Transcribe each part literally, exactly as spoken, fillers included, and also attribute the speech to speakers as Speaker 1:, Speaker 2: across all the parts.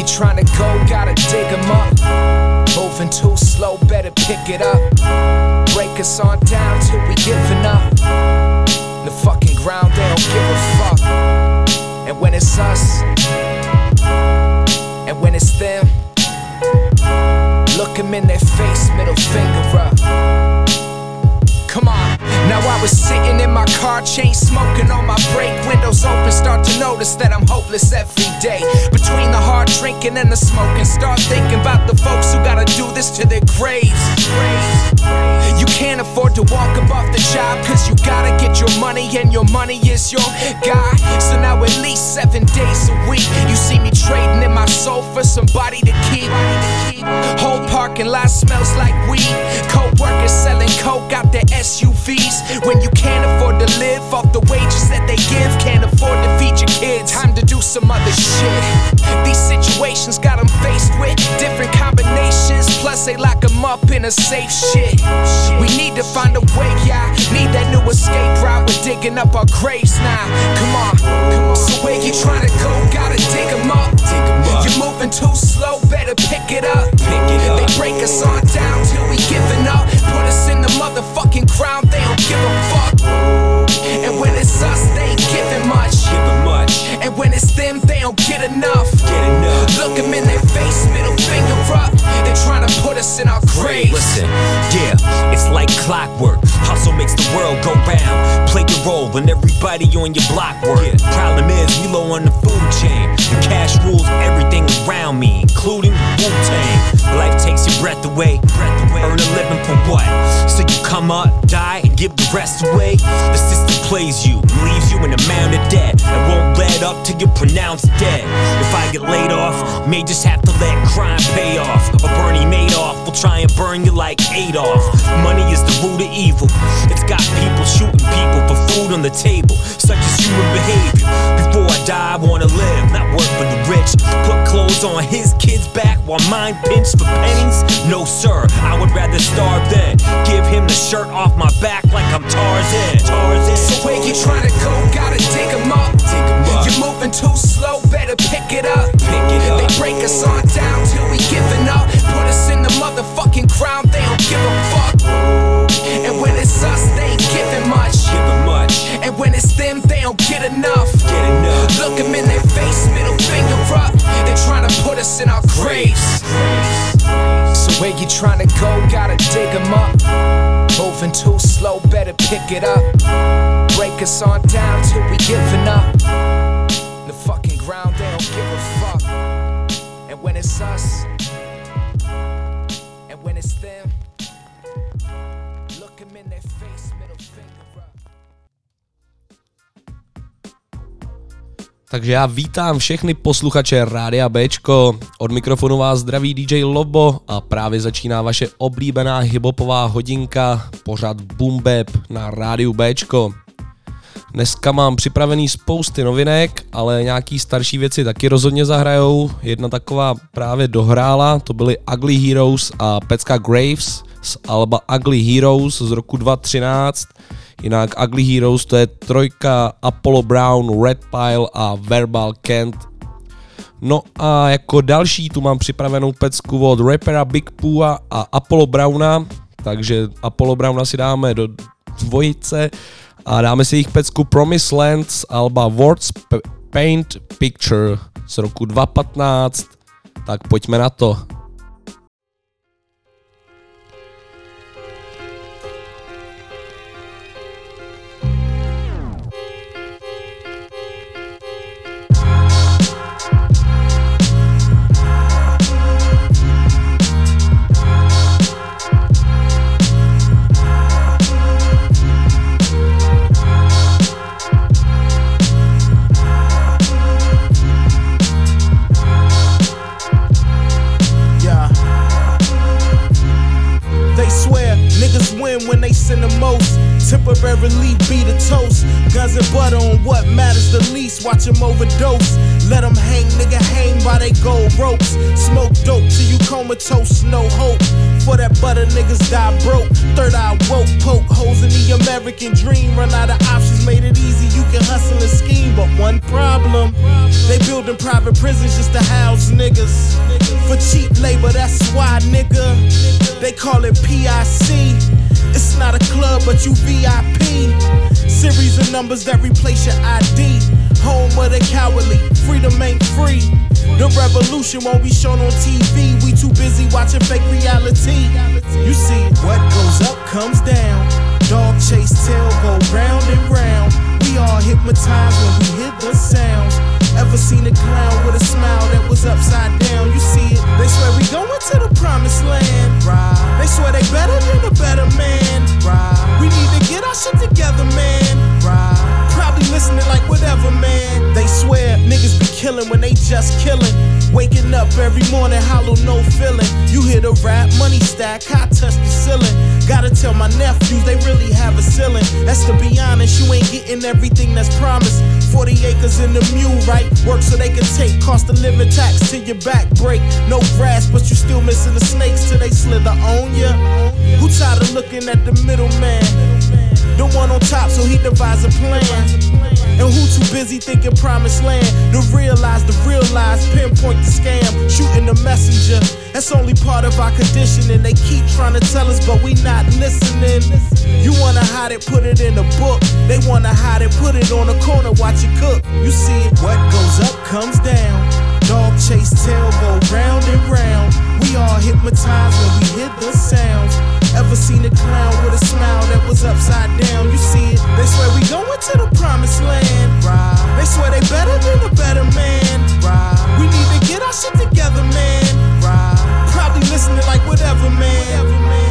Speaker 1: you trying to go, gotta dig 'em up. Moving too slow, better pick it up. Break us on down till we giving up. The fucking ground, they don't give a fuck. And when it's us, and when it's them, look 'em in their face, middle finger up. Come on. Now I was sitting in my car, chain smoking on my break, windows open, start to notice that I'm hopeless every day. Between the hard drinking and the smoking, start thinking about the folks who gotta do this to their graves. You can't afford to walk above the job, cause you gotta get your money and your money is your guy. So now at least seven days a week, you see me trading in my soul for somebody to keep. Whole parking lot smells like weed. Co-workers selling coke out their S U Vs. When you can't afford to live off the wages that they give, can't afford to feed your kids, time to do some other shit. These situations got them faced with different combinations, plus they lock them up in a safe shit. We need to find a way, yeah, need that new escape route. We're digging up our graves now, come on, come on. So where you trying to go, gotta dig 'em up. You're moving too slow, better pick it up. They break us on down till we giving up. Put us in the motherfucking ground, they don't give a fuck. And when it's us, they ain't giving much. And when it's them, they don't get enough. Look 'em in their face, middle finger up. They're trying to put us in our graves.
Speaker 2: Listen, yeah, it's like clockwork. Hustle makes the world go round. Play your role when everybody on your block work. Yeah. Problem is, we low on the food chain, and cash rules everything around me, including Wu-Tang. Life takes your breath away. breath away. Earn a living for what? So you come up, die, and give the rest away? The system plays you, leaves you in a mound of debt, and won't let up till you're pronounced dead. If I get laid off, may just have to let crime pay off. Or Bernie Madoff will try and burn you like Adolf. Money is the root of evil. It's got people shooting people for food on the table, such as human behavior. Before I die, I wanna live, not work for the rich. Put clothes on his kids' back while mine pinched for pennies? No sir, I would rather starve than give him the shirt off my back like I'm Tarzan. Tarzan.
Speaker 1: So where you trying to go, gotta dig 'em up. You're moving too slow, better pick it up. Pick it up. They break us on down till we giving up. Put us in the motherfucking ground, they don't give a fuck. And when it's us, they ain't giving much.
Speaker 2: Giving much.
Speaker 1: And when it's them, they don't get enough.
Speaker 2: Get enough.
Speaker 1: Look 'em in their face, middle finger up. They're trying to put us in our graves. So where you trying to go, gotta dig 'em up. Moving too slow, better pick it up. Break us on down till we giving up. The fucking ground, they don't give a fuck. And when it's us, and when it's them, look 'em in their face, middle finger up.
Speaker 3: Takže já vítám všechny posluchače Rádia Béčko, od mikrofonu vás zdraví D J Lobo a právě začíná vaše oblíbená hiphopová hodinka, pořad Boom Bap na Rádiu Béčko. Dneska mám připravený spousty novinek, ale nějaký starší věci taky rozhodně zahrajou. Jedna taková právě dohrála, to byly Ugly Heroes a pecka Graves z alba Ugly Heroes z roku dva tisíce třináct. Jinak Ugly Heroes to je trojka Apollo Brown, Red Pile a Verbal Kent. No a jako další tu mám připravenou pecku od rapera Big Pooha a Apollo Browna, takže Apollo Browna si dáme do dvojice a dáme si jejich pecku Promised Land z alba Words Paint Picture z roku dva tisíce patnáct. Tak pojďme na to.
Speaker 4: When they sin the most, temporarily be the toast. Guns and butter on what matters the least. Watch them overdose. Let them hang, nigga, hang by they gold ropes. Smoke dope till you comatose, no hope. For that butter, niggas die broke. Third eye woke, poke holes in the American dream. Run out of options, made it easy. You can hustle and scheme, but one problem: they building private prisons just to house niggas for cheap labor. That's why, nigga, they call it P I C. It's not a club, but you V I P. Series of numbers that replace your I D. Home of the cowardly, freedom ain't free. The revolution won't be shown on T V. We too busy watching fake reality. You see, what goes up comes down. Dog chase tail go round and round. We all hypnotized when we hear the sounds. Ever seen a clown with a smile that was upside down? You see it, they swear we going to the promised land. Right. They swear they better than a better man. Right. We need to get our shit together, man. Right. Probably listening like whatever, man. They swear niggas be killing when they just killing. Waking up every morning, hollow, no feeling. You hear the rap, money stack, I touch the ceiling. Gotta tell my nephews they really have a ceiling. That's to be honest, you ain't getting everything that's promised. Forty acres in the mule, right? Work so they can take cost of living tax till your back break. No grass, but you still missing the snakes till they slither on ya. Who tired of looking at the middleman? The one on top, so he devise a plan. And who too busy thinking promised land to realize the real lies, pinpoint the scam, shooting the messenger. That's only part of our conditioning. They keep trying to tell us, but we not listening. You wanna hide it, put it in a book. They wanna hide it, put it on a corner, watch it cook. You see it, what goes up comes down. Dog chase tail go round and round. We all hypnotized when we hear the sounds. Ever seen a clown with a smile that was upside down? You see it, they swear we going to the promised land. Right. They swear they better than a better man. Right. We need to get our shit together, man. Right. Probably listening like whatever, man. Whatever, man.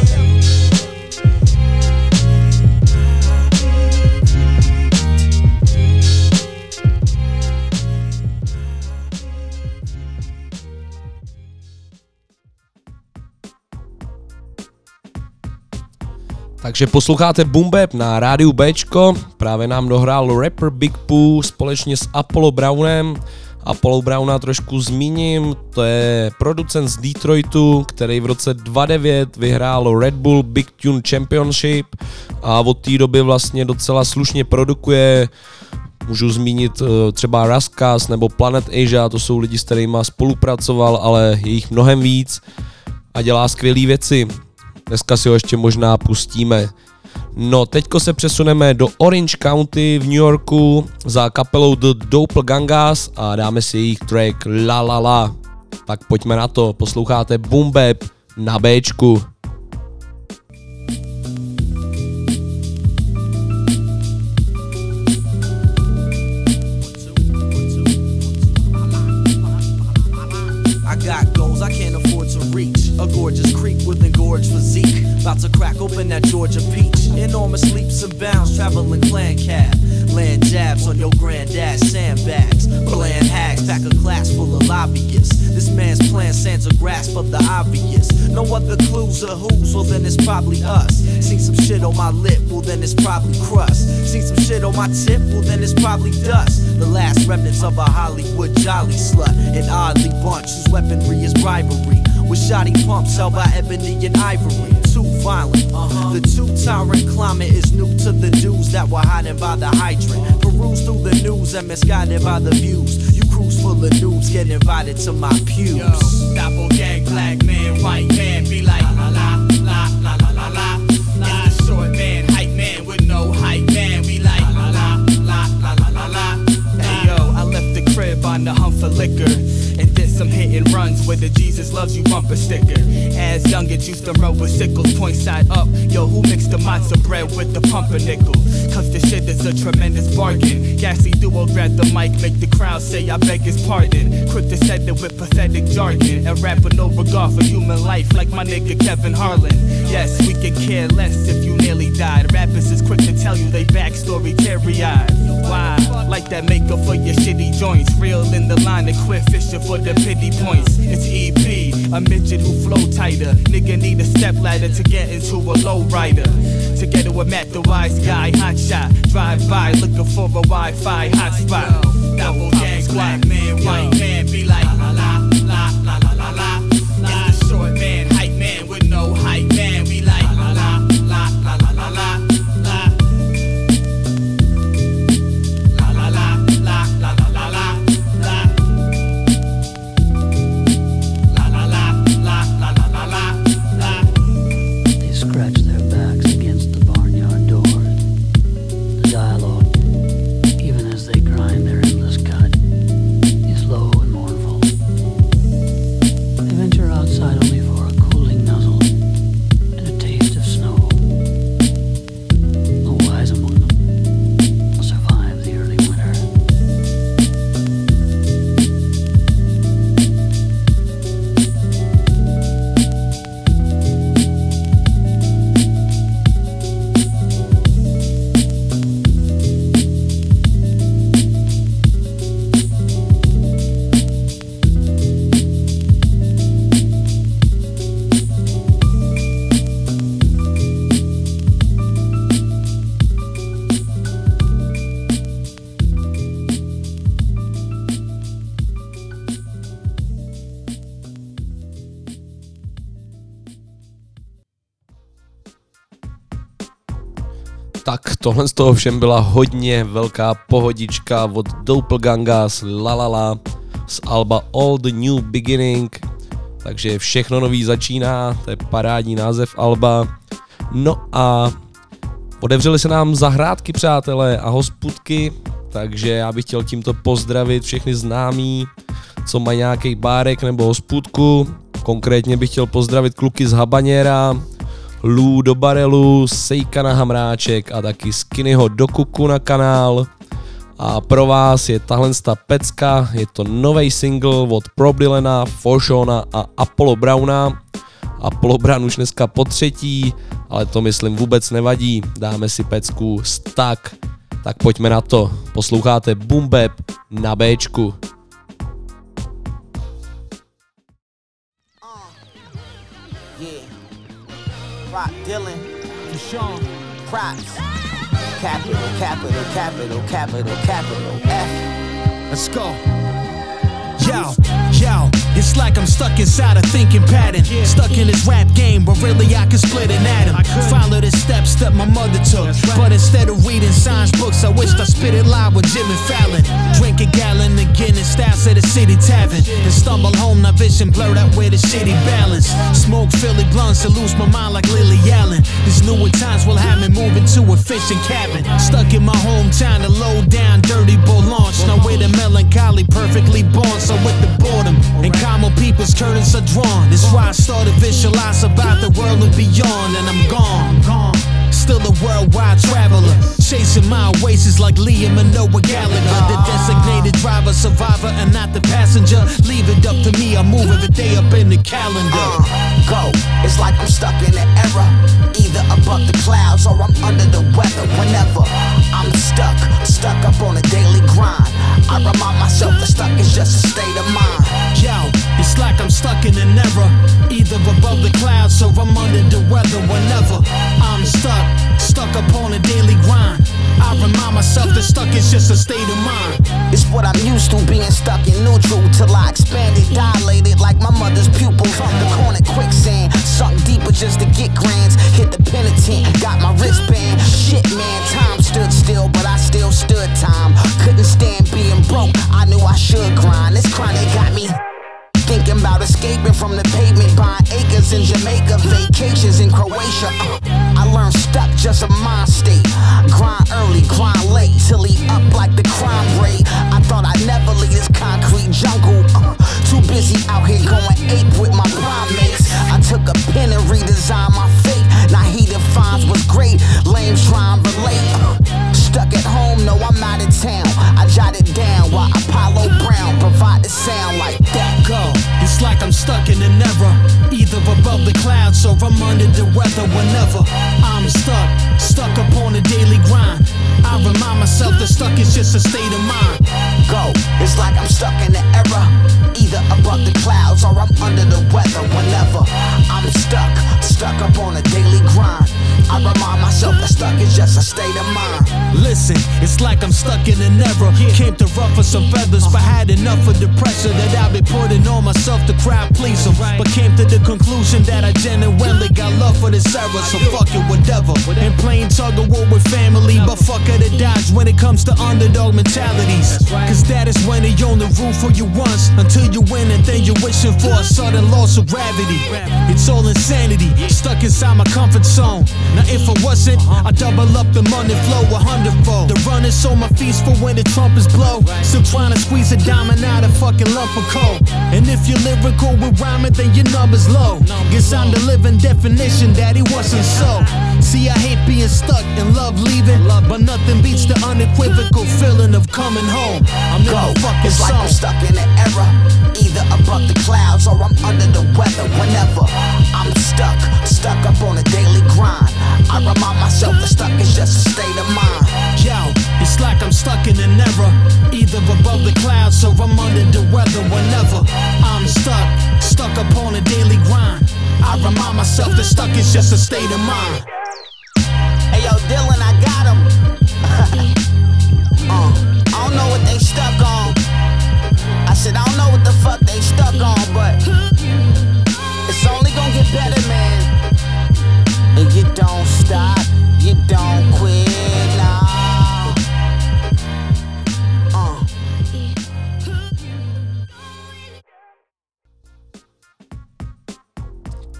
Speaker 3: Takže posloucháte Boom Bap na rádiu Bčko, právě nám dohrál rapper Big Pooh společně s Apollo Brownem. Apollo Browna trošku zmíním, to je producent z Detroitu, který v roce dva tisíce devět vyhrál Red Bull Big Tune Championship a od té doby vlastně docela slušně produkuje. Můžu zmínit třeba Raskas nebo Planet Asia, to jsou lidi, s kterými spolupracoval, ale je jich mnohem víc a dělá skvělé věci. Dneska si ho ještě možná pustíme. No, teďko se přesuneme do Orange County v New Yorku za kapelou The Doppelgangers a dáme si jejich track La La La. Tak pojďme na to, posloucháte Boom Bap na Bčku.
Speaker 5: A gorgeous creep with engorged physique, about to crack open that Georgia peach. Enormous leaps and bounds, traveling clan cab. Land jabs on your granddad's sandbags. Bland hags pack a class full of lobbyists. This man's plan stands a grasp of the obvious. No other clues or who's, well then it's probably us. Seen some shit on my lip, well then it's probably crust. Seen some shit on my tip, well then it's probably dust. The last remnants of a Hollywood jolly slut. An oddly bunch whose weaponry is bribery. With shoddy pumps held by ebony and ivory. Too violent. Uh-huh. The two-tyrant climate is new to the dudes that were hiding by the hydrant. Peruse through the news and misguided by the views. You cruise full of noobs, get invited to my pews. Yo, doppelgang, black man, white man, be like la la la la la la la. It's the short man, hype man with no hype man. We like la la la la la la la. Hey yo, I left the crib on the hunt for liquor. And did some hit and runs with the Jesus Loves You bumper sticker. As youngins used to roll with sickles, point side up. Yo, who mixed the matzo bread with the pumpernickel? Cause the shit is a tremendous bargain. Gassy duo grab the mic, make the crowd say I beg his pardon. Quick to set it with pathetic jargon. And rap with no regard for human life like my nigga Kevin Harlan. Yes, we could care less if you nearly died. Rappers is quick to tell you they backstory teary-eyed. Why? Like that makeup for your shitty joints. Real in the line and quit fishing for the pity points. It's E P, a midget who flow tighter. Nigga need a step ladder to get into a low rider. Together with Matt the wise guy, hot shot. Drive by looking for a Wi-Fi hotspot. Double gang, black man, white man, be like la la la la la la la. It's the short man, hype man with no hype.
Speaker 3: Tak tohle z toho všem byla hodně velká pohodička od Doppelganga z La La La z alba All the New Beginning. Takže všechno nový začíná, to je parádní název alba. No a otevřely se nám zahrádky, přátelé, a hospůdky, takže já bych chtěl tímto pozdravit všechny známí, co mají nějaký bárek nebo hospůdku. Konkrétně bych chtěl pozdravit kluky z Habanera, Lou do barelu, Sejka na hamráček a taky Skinnyho do kuku na kanál. A pro vás je tahle pecka, je to nový single od Probdylana, Forshona a Apollo Browna. Apollo Brown už dneska po třetí, ale to myslím vůbec nevadí, dáme si pecku Stuck. Tak pojďme na to, posloucháte Boom Bap na Bčku.
Speaker 6: Rock Dylan, Deshaun, props. Capital, capital, capital, capital, capital F.
Speaker 4: Let's go. Yo, yo, it's like I'm stuck inside a thinking pattern. Stuck in this rap game, but really I could split an atom. Follow the steps that my mother took, but instead of reading science books, I wished I spit it live with Jimmy Fallon. Drink a gallon of Guinness, styles at the city tavern, and stumble home, now vision blurred out with a shitty balance. Smoke Philly blunts and lose my mind like Lily Allen. These newer times will have me moving to a fishing cabin. Stuck in my hometown, a low down, dirty bull launch. Now with a melancholy, perfectly born. So with the boredom and common people's curtains are drawn. That's why I started visualize about the world and beyond, and I'm gone, gone. Still a worldwide traveler, chasing my oasis like Liam and Noah Gallagher. The designated driver, survivor, and not the passenger. Leave it up to me, I move every day up in the calendar.
Speaker 6: Uh, go, it's like I'm stuck in an era, either above the clouds or I'm under the weather. Whenever I'm stuck, stuck up on a daily grind, I remind myself that stuck is just a state of mind.
Speaker 4: Yo, it's like I'm stuck in an era, either above the clouds or I'm under the weather. Whenever I'm stuck, stuck up on a daily grind, I remind myself that stuck is just a state of mind.
Speaker 6: It's what I'm used to, being stuck in neutral till I expanded, dilated like my mother's pupils. The corner quicksand, sunk deeper just to get grands. Hit the penitent, got my wristband. Shit man, time stood still, but I still stood time. Couldn't stand being broke, I knew I should grind. This chronic got me thinking about escaping from the pavement, buying acres in Jamaica, vacations in Croatia. Uh, I learned stuck, just a mind state. Grind early, grind late, till he up like the crime rate. I thought I'd never leave this concrete jungle. Uh, too busy out here going ape with my primates. I took a pen and redesigned my fate. Now he defines what's great, lames try and relate. Uh, stuck at home, no I'm out of town. I jotted down while Apollo Brown provide the sound like that.
Speaker 4: Go. It's like I'm stuck in an era, either above the clouds or I'm under the weather. Whenever I'm stuck, stuck up on a daily grind, I remind myself that stuck is just a state of mind.
Speaker 6: Go, it's like I'm stuck in an era, either above the clouds or I'm under the weather. Whenever I'm stuck, stuck up on a daily grind, I remind myself that stuck is just a state of mind.
Speaker 4: Listen, it's like I'm stuck in an era, came to ruffle some feathers, but had enough of the pressure that I've been putting on myself to crowd please them. But came to the conclusion that I genuinely got love for this era, so fuck it, whatever. And playing tug of war with family, but fuck it, it dodge when it comes to underdog mentalities. Cause that is when they own the roof for you once, until you win and then you're wishing for a sudden loss of gravity. It's all insanity, stuck inside my comfort zone. Now if I wasn't, I'd double up the money flow a hundredfold. The run is on my feet for when the trumpets blow. Still trying to squeeze a diamond out of fucking lump of coal. And if you're lyrical with rhyming, then your number's low. Guess I'm the living definition that it wasn't so. See, I hate being stuck and love leaving, but nothing beats the unequivocal feeling of coming home. I'm
Speaker 6: Go,
Speaker 4: in the fucking
Speaker 6: it's like
Speaker 4: zone.
Speaker 6: I'm stuck in an era, either above the clouds or I'm under the weather. Whenever I'm stuck, stuck up on a daily grind, I remind myself that stuck is just a state of mind.
Speaker 4: Yo, it's like I'm stuck in an era, either above the clouds or I'm under the weather. Whenever I'm stuck, stuck up on a daily grind, I remind myself that stuck is just a state of mind.
Speaker 6: Hey yo, Dylan, I got him. uh, I don't know what they stuck on. I said I don't know what the fuck they stuck on, but it's only gonna get better, man. And you don't stop, you don't quit.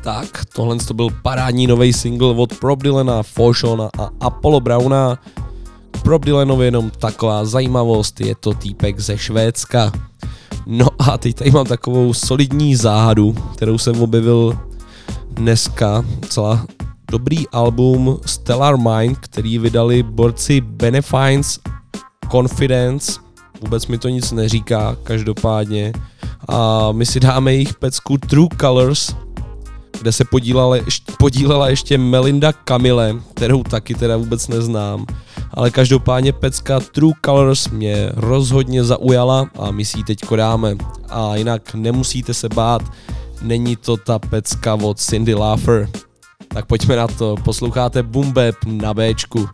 Speaker 3: Tak, tohle to byl parádní nový single od Prop Dylana, Foshona a Apollo Browna. Prop Dylanovi jenom taková zajímavost, je to týpek ze Švédska. No a teď tady mám takovou solidní záhadu, kterou jsem objevil dneska. Celá dobrý album Stellar Mind, který vydali borci Benefines, Confidence, vůbec mi to nic neříká, každopádně. A my si dáme jejich pecku True Colors, kde se podílela, podílela ještě Melinda Camille, kterou taky teda vůbec neznám. Ale každopádně pecka True Colors mě rozhodně zaujala a my si ji teďko dáme. A jinak nemusíte se bát, není to ta pecka od Cyndi Lauper. Tak pojďme na to, posloucháte Boom Bap na Bčku.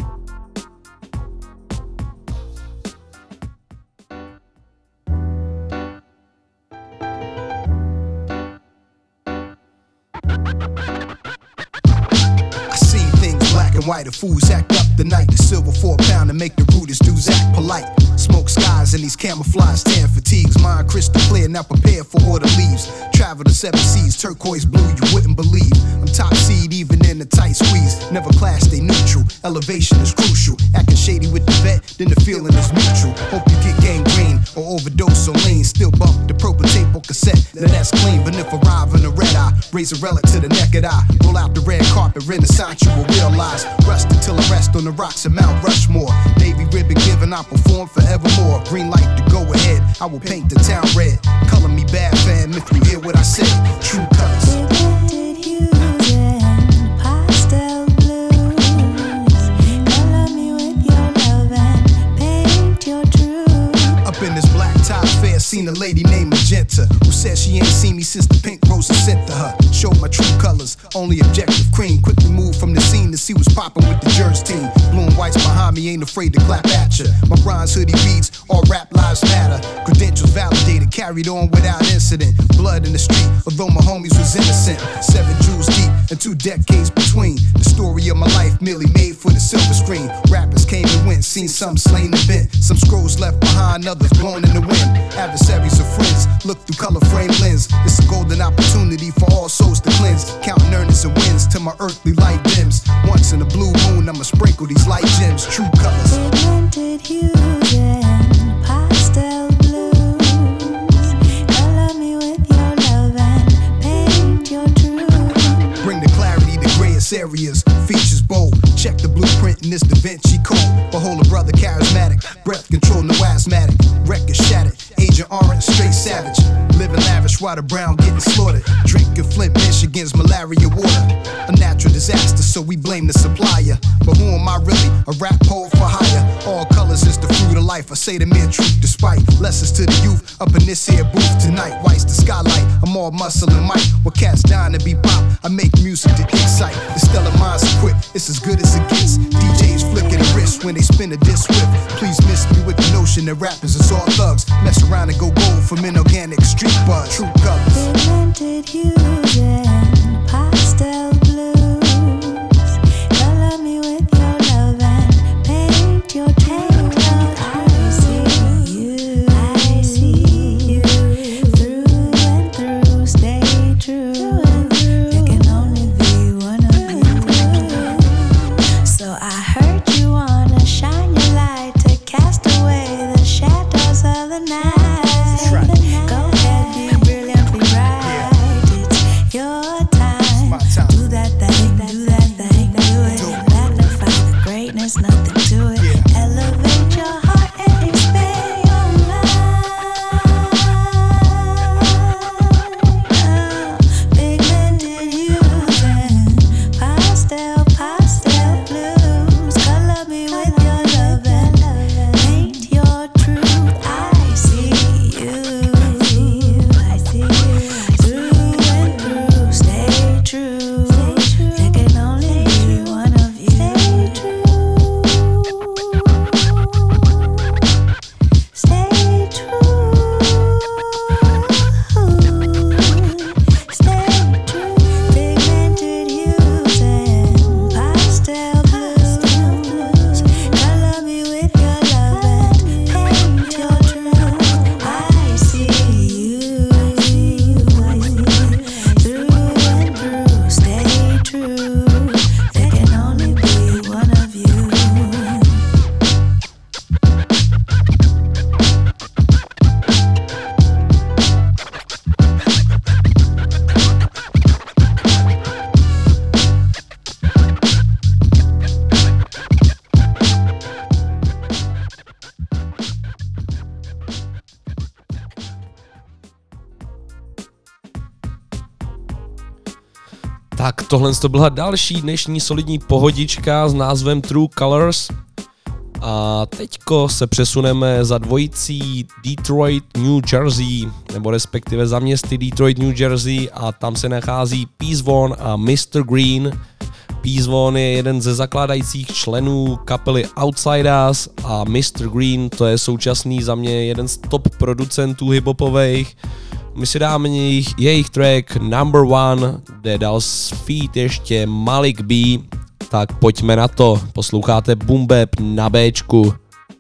Speaker 7: White, the fools act up the night. The silver four pound to make the rudest dudes act polite. Smoke skies in these camouflage tan fatigues. Mind crystal clear, now prepared for order leaves. Travel to seven seas, turquoise blue, you wouldn't believe. I'm top seed even in a tight squeeze. Never class, stay neutral. Elevation is crucial. Acting shady with the vet, then the feeling is mutual. Hope you get gangrene or overdose on lean. Still bump the proper tape on cassette. Now that's clean, but if arrive in a red eye, raise a relic to the naked eye. Roll out the red carpet, renaissance you will realize. Rust until I rest on the rocks of Mount Rushmore. Navy ribbon given, I perform forevermore. Green light to go ahead, I will paint the town red. Color me bad fam if you hear what I say. True colors. Seen a lady named Magenta who said she ain't seen me since the pink rose was sent to her. Showed my true colors, only objective cream. Quickly moved from the scene to see what's poppin' with the Jers team. Blue and whites behind me, ain't afraid to clap at ya. My bronze hoodie beats, all rap lives matter. Credentials validated, carried on without incident. Blood in the street, although my homies was innocent. Seven jewels deep and two decades between. The story of my life merely made for the silver screen. Rappers came and went, seen some slain and bent. Some scrolls left behind, others blown in the wind. Adversaries of friends, look through color frame lens. It's a golden opportunity for all souls to cleanse. Counting earnings and wins till my earthly light dims. Once in a blue moon, I'ma sprinkle these light gems. True colors.
Speaker 8: Pigmented hues and pastel blues. Color me with your love and paint your truth.
Speaker 7: Bring the clarity to grayest areas. Features bold. Check the blueprint in this Da Vinci Code. Behold a brother charismatic. Breath control, no asthmatic. Record shattered. Agent Orange, straight savage. Living lavish while the brown getting slaughtered. Drinking Flint, Michigan's malaria water. A natural disaster, so we blame the supplier. But who am I really? A rap poet for hire. All colors is the fruit of life. I say the mere truth despite lessons to the youth up in this here booth tonight. White's the skylight. I'm all muscle and might. What cats dying to be pop. I make music to excite. The stellar minds equipped. It's as good as it gets. D Js flicking the wrist when they spin a disc swift. Please miss me with the notion that rappers is all thugs. Mess around and go gold from inorganic street buzz. True colors.
Speaker 8: Pigmented hues and pastel blues. Color me with your love and paint your truth. I see you, I see you through and through. Stay true. There can only be one of you. So I heard you wanna shine your light to cast away the shadows of the night. Go ahead, be brilliant, be bright. It's your time. Do that thing, do that thing, do it. Magnify the greatness, nothing to it. Elevate your heart and expand your mind. Pigmented hues and pastel, pastel blues. Color me with your love and paint your truth. I see you, I see you through and through. Stay true. There can only be one of you. Stay true.
Speaker 3: Tak tohle to byla další dnešní solidní pohodička s názvem True Colors. A teďko se přesuneme za dvojicí Detroit, New Jersey, nebo respektive za městy Detroit, New Jersey, a tam se nachází Peace Vaughn a mister Green. Peace Vaughn je jeden ze zakládajících členů kapely Outsiders a mister Green to je současný za mě jeden z top producentů hiphopových. My si dáme jejich, jejich track Number One, kde dal feat ještě Malik B. Tak pojďme na to, posloucháte Boom Bap na Bčku.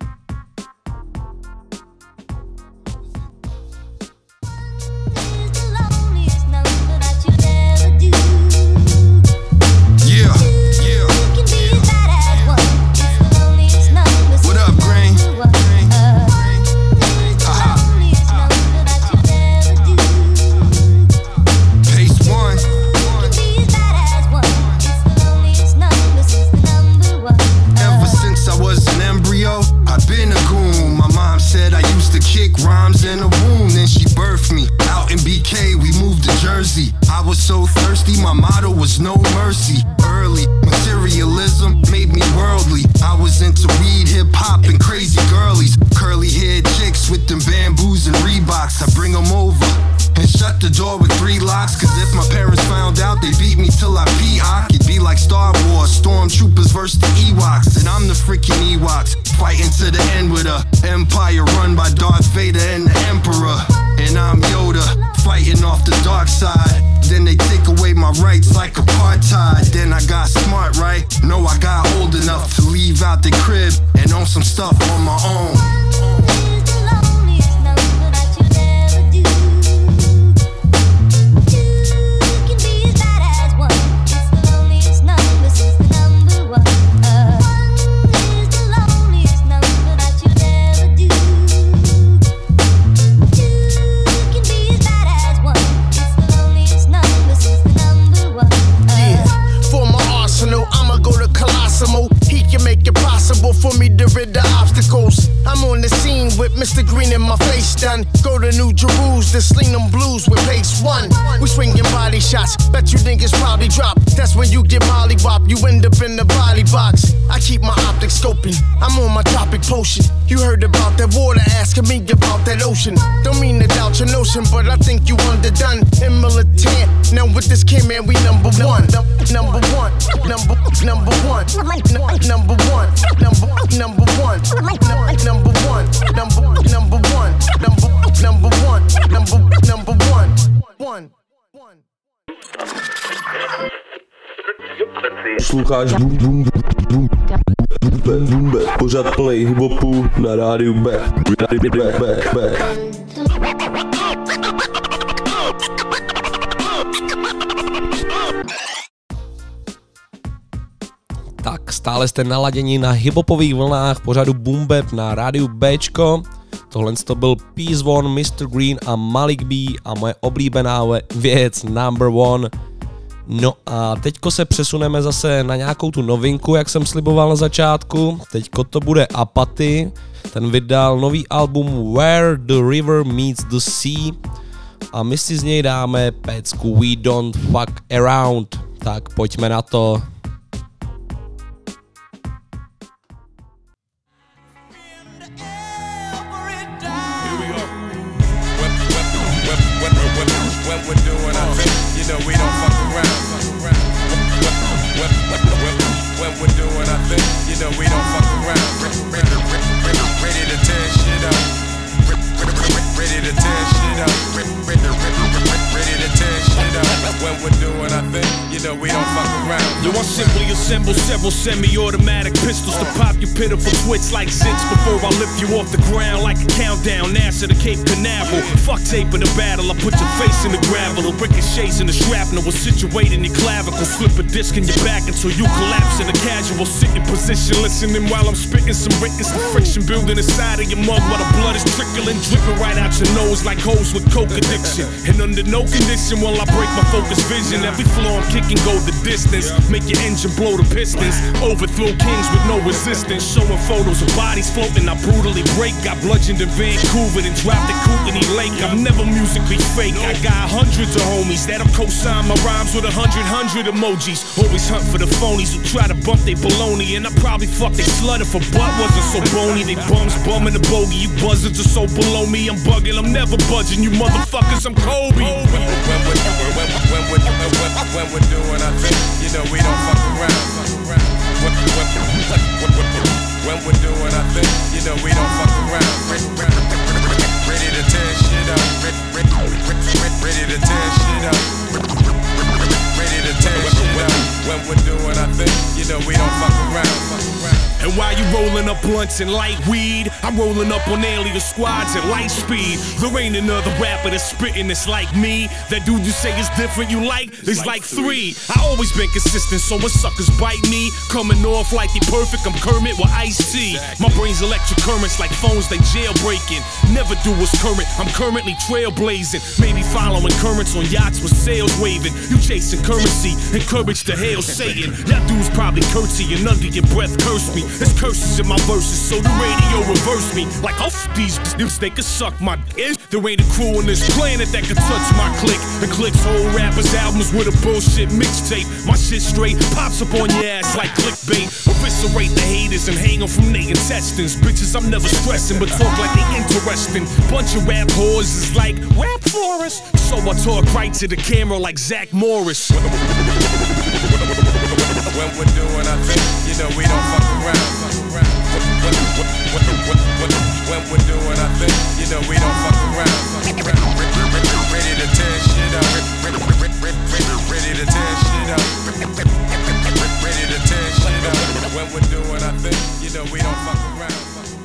Speaker 3: Posloucháš Boom Boom Boom Boom Boom Bap, pořad play hiphopu na rádiu B. Tak stále jste naladěni na hiphopových vlnách pořadu Boom Bap na rádiu Bčko. Tohle to byl Peace Vaughn, mister Green a Malik B a moje oblíbená věc Number One. No a teďko se přesuneme zase na nějakou tu novinku, jak jsem sliboval na začátku. Teďko to bude Apathy, ten vydal nový album Where the River Meets the Sea a my si z něj dáme pecku We Don't Fuck Around. Tak pojďme na to.
Speaker 9: Yo, I simply assemble several semi-automatic pistols to pop your pitiful twits like zits before I lift you off the ground like a countdown. NASA to Cape Canaveral. Fuck tape in the battle, I put your face in the gravel. The ricochets in the shrapnel will situate in your clavicle. Slip a disc in your back until you collapse in a casual sitting position. Listening while I'm spitting some writtens. The friction building inside of your mug while the blood is trickling, dripping right out your nose like hoes with coke addiction. And under no condition will I break my focus vision. Every floor I'm kicking go the distance. Make your engine blow the piston. distance. Overthrow kings with no resistance. Showing photos of bodies floating, I brutally break. Got bludgeoned in Vancouver, then dropped at Kootenai Lake. I'm never musically fake. I got hundreds of homies that'll co-sign my rhymes with a hundred hundred emojis. Always hunt for the phonies who try to bump they baloney. And I probably fuck they slut if a butt wasn't so bony. They bums bumming the bogey. You buzzards are so below me. I'm bugging, I'm never budging. You motherfuckers, I'm Kobe. When we're, when, we're, when, when, we're, when, when we're doing our thing, you know we don't fuck around. When, when, when, when we're doing our thing, you know we don't fuck around. Ready to tear shit up. Ready to tear shit up. Ready to tear shit up. When we're doing our thing, you know we don't fuck around. And while you rolling up blunts and light weed, I'm rolling up on alien squads at light speed. There ain't another rapper that's spitting that's like me. That dude you say is different you like is like three. I always been consistent, so when suckers bite me, coming off like they perfect, I'm Kermit with Ice-T. My brain's electric currents like phones they jailbreaking. Never do what's current, I'm currently trailblazing. Maybe following currents on yachts with sails waving. You chasing currency, encourage to hail Satan. That dude's probably curtsying under your breath, curse me. There's curses in my verses, so the radio reverse me. Like, oh, f- these niggas, they can suck my dick. There ain't a crew on this planet that can touch my click. The click's whole rappers' albums with a bullshit mixtape. My shit straight pops up on your ass like clickbait. Eviscerate the haters and hang them from their intestines. Bitches, I'm never stressing, but talk like they interesting. Bunch of rap whores is like rap for us. So I talk right to the camera like Zach Morris. When we're doing our thing, you know we don't fuck around. When, when, when, when, when, when we're doing our thing, you know we don't fuck around. Ready to tear shit up. Ready to tear shit up. Ready to tear shit up. When we're doing our thing, you know we don't fuck around.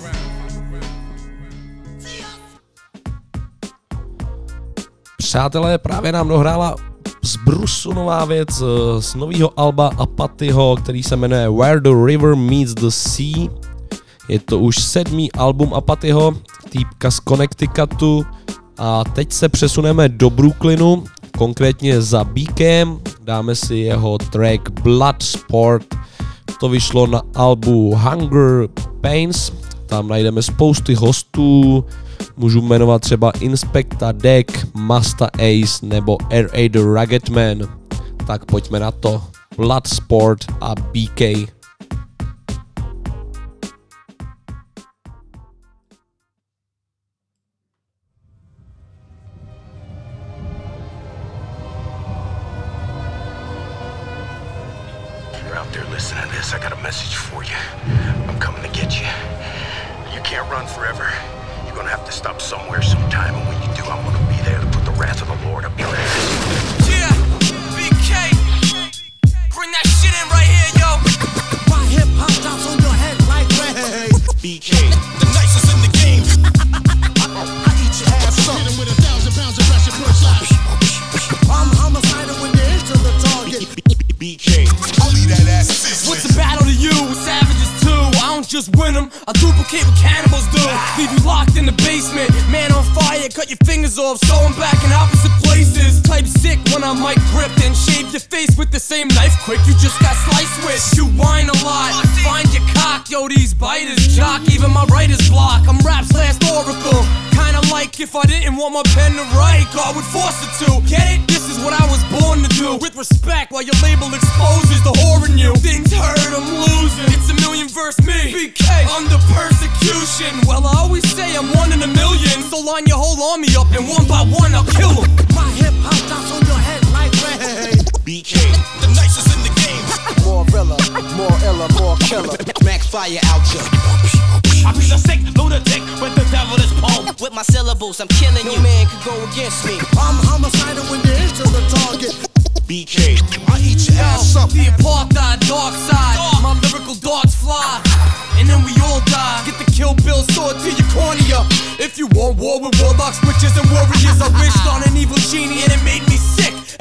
Speaker 3: Přátelé, právě nám dohrála z Brusu nová věc z nového alba Apathyho, který se jmenuje Where the River Meets the Sea. Je to už sedmý album Apathyho, týpka z Connecticutu, a teď se přesuneme do Brooklynu, konkrétně za Beakem, dáme si jeho track Bloodsport. To vyšlo na albu Hunger Pains, tam najdeme spousty hostů, můžu jmenovat třeba Inspecta Deck, Masta Ace nebo R A The Rugged Man. Tak pojďme na to. Bloodsport a B K.
Speaker 10: You're out there listening to this, I got a message for you. I'm coming to get you. You can't run forever. You're gonna have to stop somewhere sometime, and when you do, I'm gonna be there to put the wrath of the Lord up your ass.
Speaker 1: Yeah, B K, bring that shit in right here, yo.
Speaker 4: My hip hop drops on your head like red.
Speaker 10: B K,
Speaker 1: The nicest in the game.
Speaker 4: I eat your ass up. Hit him with a thousand pounds of pressure per slap. I'm homicidal when you hit to the target.
Speaker 10: B K, I'll leave that ass sizzling.
Speaker 1: What's the battle to you? Savages too. I don't just win them, I duplicate what cannibals do. Leave you locked in the basement, man on fire, cut your fingers off, sew them back in opposite places. Type sick when I mic grip, then shave your face with the same knife quick you just got sliced with. You whine a lot, find your cock, yo these biters jock, even my writer's block. I'm rap's last oracle, kinda like if I didn't want my pen to write, God would force it to. Get it? This is what I was born to do. With respect, while your label exposes the whore in you. Things hurt, I'm losing. It's a million verse me. B K, under persecution. Well, I always say I'm one in a million. So line your whole army up and one by one I'll kill them.
Speaker 4: My hip hop drops on your head like red.
Speaker 10: B K, the nicest in the game.
Speaker 5: More realer, more iller, more killer. Max fire out ya.
Speaker 1: I be the sick lunatic with the devil is pole.
Speaker 11: With my syllables, I'm killing you. No man could go against me.
Speaker 4: I'm homicidal when you hit to the target.
Speaker 10: B K,
Speaker 4: I eat your ass up.
Speaker 1: The apartheid dark side, my lyrical darts fly, and then we all die. Get the Kill Bill sword to your cornea. If you want war with warlocks, witches, and warriors, I wished on an evil genie and it made me sick.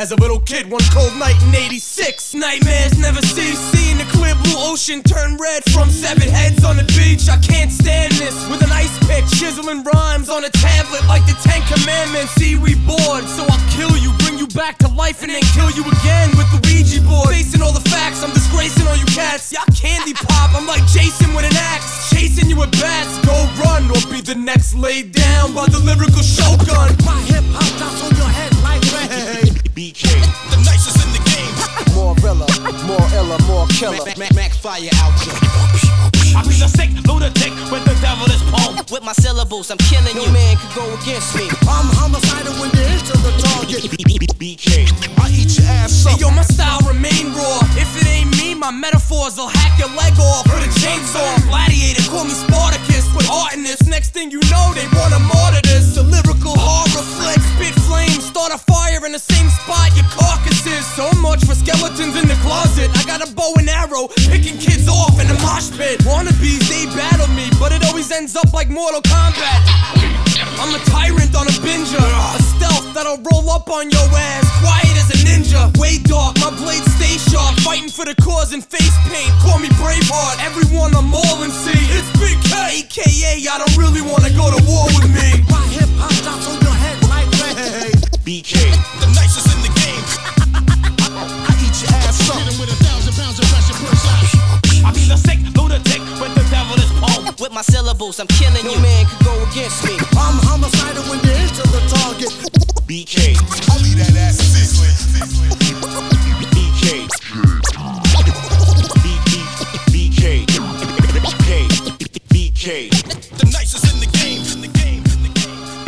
Speaker 12: as a little kid one cold night in eighty-six. Nightmares never cease, seeing the clear blue ocean turn red from seven heads on the beach. I can't stand this, with an ice pick, chiseling rhymes on a tablet like the Ten Commandments. See, we bored, so I'll kill you, bring you back to life and then kill you again with the Ouija board. Facing all the facts, I'm disgracing all you cats. Y'all candy pop, I'm like Jason with an axe, chasing you with bats. Go run or be the next laid down by the lyrical shogun.
Speaker 13: My hip hop drops on your head like rain.
Speaker 12: B K, the nicest in the game.
Speaker 13: More illa, more illa, more killer.
Speaker 11: Mac, Mac fire out you.
Speaker 12: I be the sick lunatic with the devil is poem.
Speaker 11: With my syllables, I'm killing you. No man could go against me.
Speaker 13: I'm homicidal when you hit to the target.
Speaker 12: B K,
Speaker 13: I eat your ass up.
Speaker 12: Hey, yo, my style remain raw. If it ain't me, my metaphors will hack your leg off with a chainsaw. Gladiator, call me Spartacus. Put heart in this. Next thing you know, they wanna martyr this. A lyrical horror flick, spit flames, start a fire in the same spot your carcass is. So much for skeletons in the closet. I got a bow and arrow, picking kids off in the mosh pit. Wannabes, they battle me, but it always ends up like Mortal Kombat. I'm a tyrant on a binger, a stealth that'll roll up on your ass, quiet as a ninja. Way dark, my blades stay sharp, fighting for the cause in face paint. Call me Braveheart, everyone I'm all in C. It's Big K, A K A I don't really wanna go to war with me.
Speaker 13: My hip hop drops on your head like rain.
Speaker 12: B K, the nicest in the game.
Speaker 13: I eat your ass up.
Speaker 12: Hit him with a thousand pounds of pressure per shot. I be the sick lunatic with the devil is poem.
Speaker 11: With my syllables, I'm killing you. No man could go against me.
Speaker 13: I'm homicidal when you hit to the target.
Speaker 12: B K,
Speaker 13: I'll leave that ass sizzling.
Speaker 12: B K, B K, B K, the nicest in the game. In the game. In the game.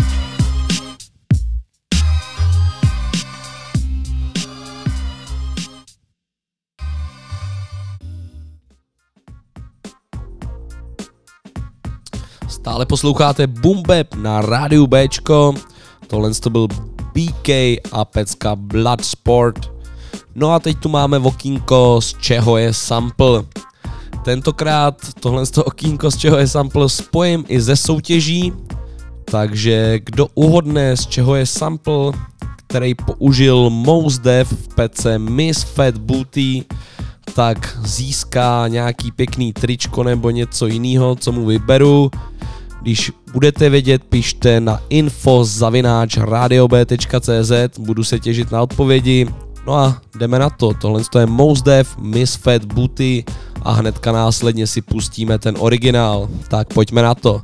Speaker 3: Stále posloucháte Boom Bap na rádiu Bčko. Tohle to byl B K a pecka Bloodsport. No a teď tu máme okýnko, z čeho je sample. Tentokrát tohle to okýnko, z čeho je sample, spojím i ze soutěží. Takže kdo uhodne, z čeho je sample, který použil Mos Def v pece Miss Fat Booty, tak získá nějaký pěkný tričko nebo něco jiného, co mu vyberu. Když budete vědět, pište na info zavináč radio b tečka cé zet, budu se těšit na odpovědi. No a jdeme na to, tohle je Mos Def, Miss Fat Booty a hnedka následně si pustíme ten originál. Tak pojďme na to.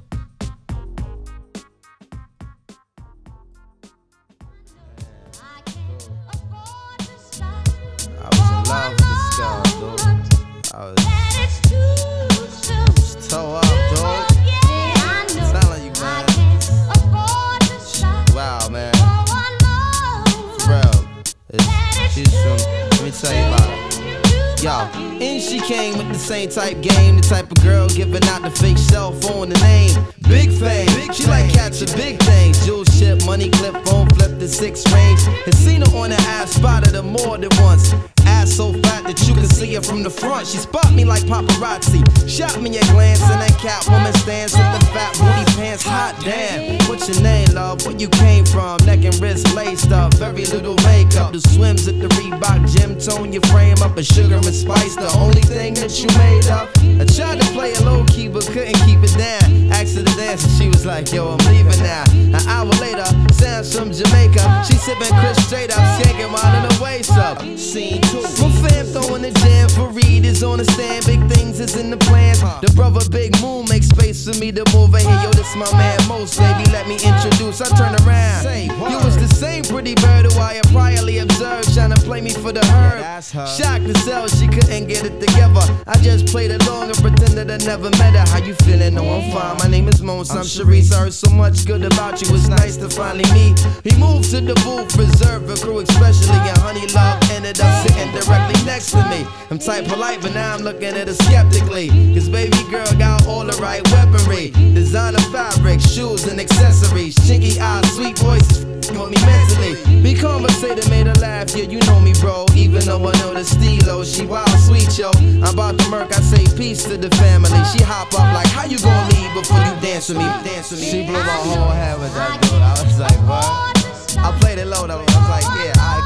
Speaker 14: Tell you about it. Yo, and she came with the same type game, the type of girl giving out the fake cell phone, the name Big Fame. She like catching big things, jewel ship, money clip, phone flip the six range. Has seen her on the app, spotted her more than once. Ass so fat that you can see her from the front. She spot me like paparazzi, shot me a glance, and that Catwoman stands with the fat booty pants. Hot damn, what's your name, love? Where you came from? Neck and wrist laced up, very little makeup. The swims at the Reebok gym, tone your frame up, a sugar and spice, the only thing that you made up. I tried to play it low key, but couldn't keep it down. Asked her to dance, and she was like, yo, I'm leaving now. An hour later, sounds from Jamaica. She sipping Chris straight up, skanking while in her waist up. Scene two. My fam throwing the jam for Reed is on the stand. Big things is in the plans. The brother Big Moon makes space for me to move in here. Yo, this my man Most, baby, let me introduce. I turn around. You was the same pretty bird who I had priorly observed, trying to play me for the herb. Shocked to sell, she couldn't get it together. I just played along and pretended I never met her. How you feeling? No, I'm fine. My name is Mons. I'm Sharice. I heard so much good about you. It's nice to finally meet. He moved to the booth, reserved for crew, especially and Honey Love ended up sitting directly next to me. I'm type polite, but now I'm looking at her skeptically. Cause baby girl got all the right weaponry. Designer fabric, shoes and accessories. Chinky eyes, sweet voices, got me mentally. Be conversated, made her laugh, yeah, you know me, bro. Even though I know the stilo, she wild sweet, yo. I'm about to murk, I say peace to the family. She hop up like, how you gonna leave before you dance with me? Dance with me. She blew my whole head with that dude. I was like, what? I played it low though. I was like, yeah, I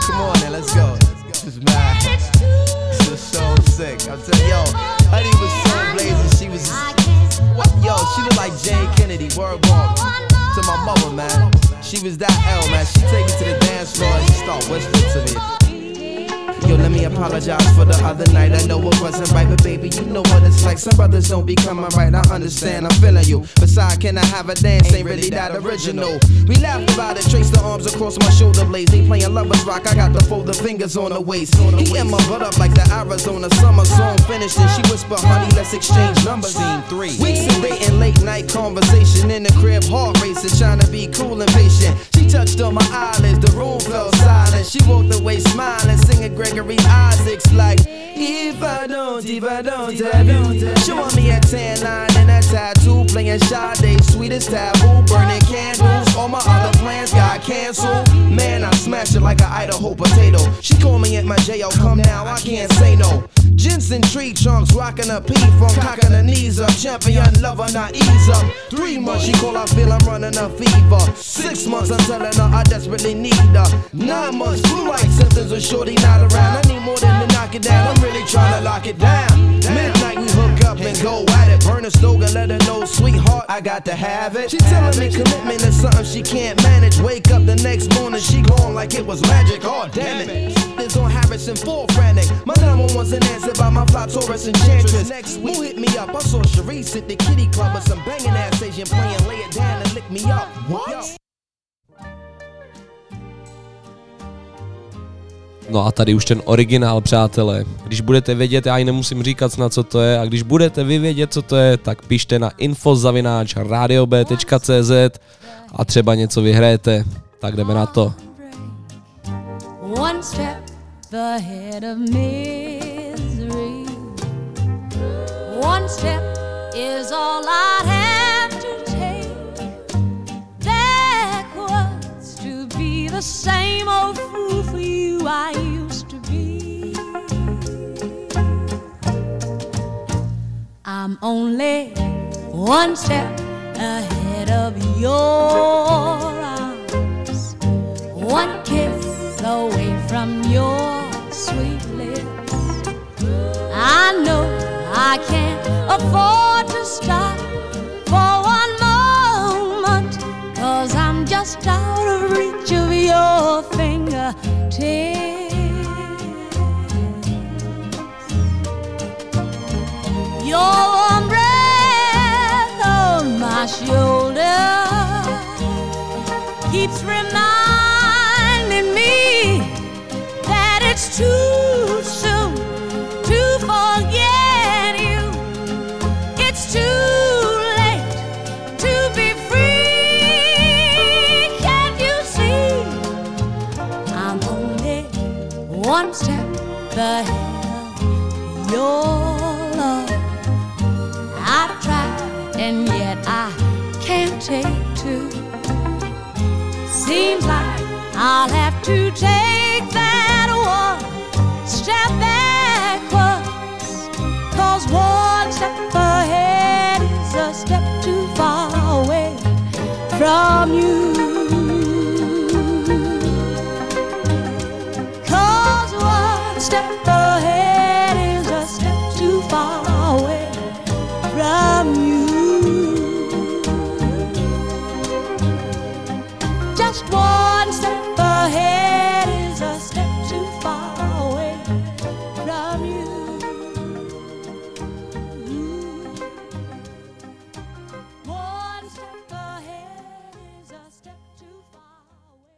Speaker 14: Come on now, let's go. This is mad. This is so sick. I'm telling yo, Honey was so blazing. She was, what? Yo, she looked like Jane Kennedy. Word walk to my mother, man. She was that L, man. She take me to the dance floor and she start whispering to me. Yo, let me apologize for the other night. I know it wasn't right, but baby, you know what it's like. Some brothers don't be coming right. I understand, I'm feeling you. Besides, can I have a dance? Ain't really that original. We laughed about it, traced the arms across my shoulder blades. They playing lovers rock, I got the folded fingers on the waist. He in my butt up like the Arizona summer song finished. And she whispered, honey, let's exchange numbers. Scene three. Weeks of dating, late night conversation in the crib, heart racing, trying to be cool and patient. She touched on my eyelids, the room fell silent. She walked away smiling, singing Gregory Isaacs like, if I don't, if I don't have you. Showing me a tan line and a tattoo, playing Sade, sweetest taboo, burning candles. All my other plans got canceled. Man, I smashed it like an Idaho potato. She called me at my J O, come now, I can't say no. Jensen tree trunks, rocking a P from cocking her knees up. Champion lover, not ease up. Three months, she call, I feel I'm running a fever. Six months, I'm telling her I desperately need her. Nine months, flu-like symptoms of shorty not around. I need more than to knock it down, I'm really trying to lock it down. Midnight, we hook up and go at it. Burn a stove and let her know, sweetheart, I got to have it. She telling me commitment is something she can't manage. Wake up the next morning, she gone like it was magic. Oh, damn it. This on Harrison, full frantic. My number one's an answer by my fly Taurus enchantress. Next week, who hit me up? I saw Sharice at the kitty club with some banging ass Asian playing Lay It Down and Lick Me Up. What?
Speaker 3: No a tady už ten originál, přátelé. Když budete vědět, já ji nemusím říkat snad, co to je, a když budete vy vědět, co to je, tak pište na info zavináč radio b tečka c z a třeba něco vyhrajete. Tak jdeme na to.
Speaker 8: One step ahead of misery. One step is all I'd have to take. Backwards to be the same old fool for you I used to be. I'm only one step ahead of your arms. One kiss away from your sweet lips. I know I can't afford to stop for one moment, 'cause I'm just out of reach of your fingertips. Your warm breath on my shoulder keeps reminding me that it's too soon to forget you. It's too late to be free. Can't you see? I'm only one step ahead of your love. I've tried and yet I can't take two. Seems like I'll have to take that one step backwards, 'cause one step ahead is a step too far away from you. 'Cause one step ahead is a step too far away from you. Just one step ahead is a step too far away from you. One step ahead is a step too far away.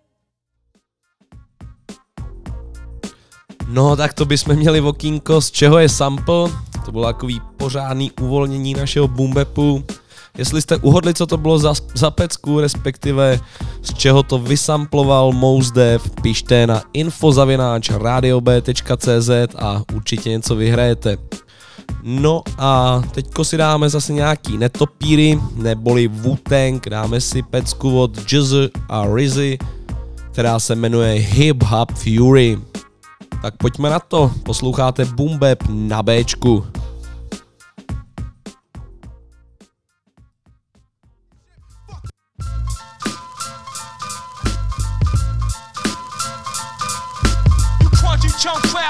Speaker 3: No, tak to bychom měli okýnko, z čeho je sample. To bylo takový pořádný uvolnění našeho boombapu. Jestli jste uhodli, co to bylo za, za pecku, respektive z čeho to vysamploval Mos Def, pište na info zavináč radio b tečka c z a určitě něco vyhrajete. No a teďko si dáme zase nějaký netopíry, neboli Wu-Tang, dáme si pecku od Jizz a Rizzy, která se jmenuje Hip Hop Fury. Tak pojďme na to, posloucháte Boom Bap na Bčku.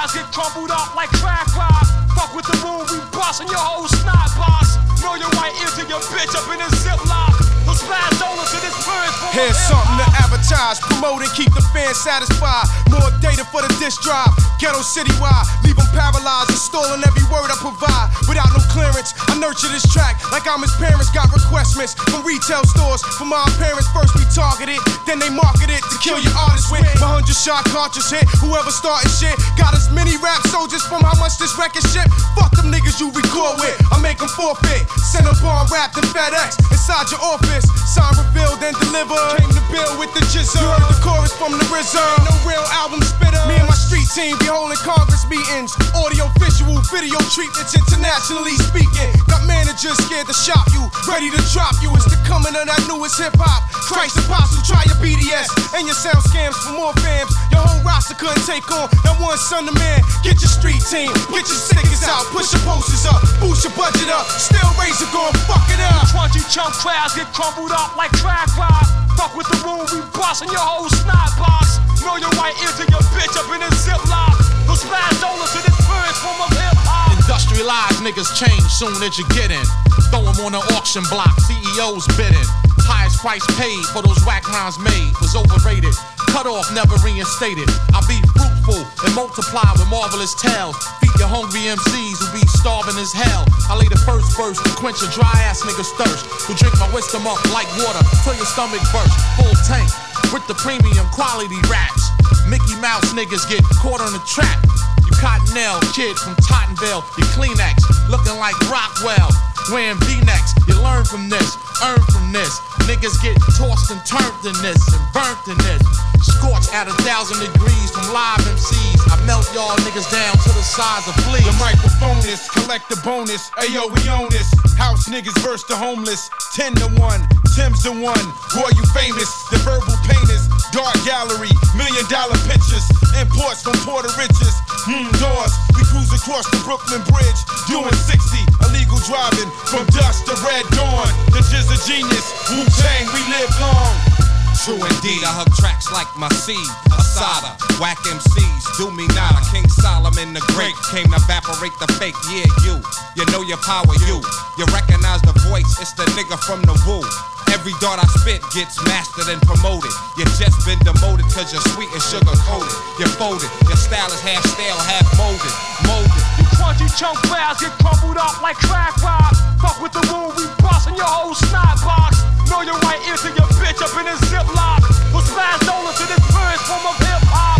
Speaker 15: clouds get crumbled up like crack rock. Fuck with the room, we bustin' your whole snot box. Know your right ear to your bitch up in a ziplock. Those splash dollars to this purge.
Speaker 16: Here's something to advertise, promote and keep the fans satisfied. More data for the disc drive, ghetto citywide. Leave them paralyzed, installing every word I provide. Without no clearance, I nurture this track like I'm his parents. Got requestments from retail stores. For my parents, first we targeted, then they market it to kill your artist with. My hundred shot cartridge hit, whoever started shit. Got as many rap soldiers from how much this record shit. Fuck them niggas you record with, I make them forfeit. Send a bar wrapped in FedEx inside your office. Sign revealed and delivered. Came to build with the jizzle. You heard the chorus from the R Z A. No real album spitter. Me and my street team be holding Congress meetings. Audio, visual, video treatments, internationally speaking. Got managers scared to shop you, ready to drop you. It's the coming of that newest hip hop. Christ Apostle, try your B D S and your sound scams for more fams. Your whole roster couldn't take on that one son of man. Get your street team, get your stickers out, push your posters up, boost your budget up. Still Razor gon' fuck it up.
Speaker 15: Crunchy chunk crowds get crumbled up like crack rock. Fuck with the room, we bustin' your whole snot box. Know your right ear to your bitch up in a ziplock. Those splash dollars to this purge form of hip hop.
Speaker 17: Industrialized niggas change soon as you get in. Throw them on the auction block, C E Os bidding. Highest price paid for those whack rhymes made was overrated. Cut off, never reinstated. I be fruitful and multiply with marvelous tales. Feed your hungry M Cs who be starving as hell. I lay the first verse to quench a dry ass nigga's thirst. Who drink my wisdom up like water till your stomach burst. Full tank with the premium quality raps. Mickey Mouse niggas get caught on the trap. You Cottonelle kid from Tottenville, you Kleenex looking like Rockwell. Wearing V-necks, you learn from this, earn from this. Niggas get tossed and turned in this and burnt in this. Scorched at a thousand degrees from live M Cs. I melt y'all niggas down to the size of fleas.
Speaker 16: The microphone is, collect the bonus. Ayo, we own this. House niggas verse the homeless. Ten to one, Tim's the one. Boy, you famous. The verbal painters, dark gallery, million dollar pictures. Imports from Puerto Riches. Hmm, doors. We cruise across the Brooklyn Bridge, doing sixty. Illegal driving from dusk to red dawn. The Jizz a genius. Wu-Tang, we live long.
Speaker 18: True indeed, I hug tracks like my seed, Asada, whack M Cs, do me nada. King Solomon the Great came to evaporate the fake. Yeah, you, you know your power, you. You recognize the voice, it's the nigga from the woo. Every dart I spit gets mastered and promoted. You just been demoted cause you're sweet and sugar coated. You're folded, your style is half stale, half molded, molded.
Speaker 15: You crunchy chunk clouds get crumbled up like crack rock. Fuck with the room, we bustin' your whole snot box. Know your right ear to your bitch up in a ziplock. We'll smash dollars to this purge form of hip hop.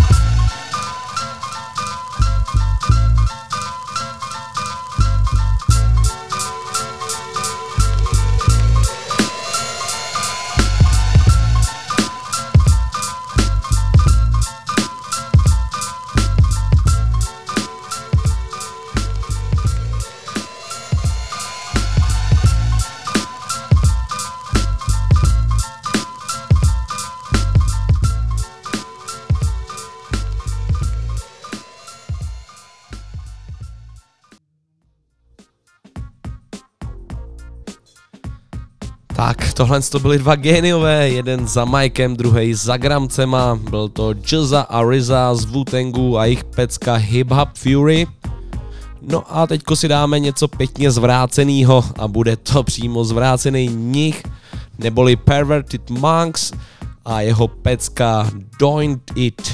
Speaker 3: Tak, tohle to byly dva géniové, jeden za Mikem, druhý za Gramcema, byl to Jizza a R Z A z Wu-Tangu a jejich pecka Hip Hop Fury. No a teďko si dáme něco pěkně zvrácenýho a bude to přímo zvrácený nich, neboli Perverted Monks a jeho pecka Doing It.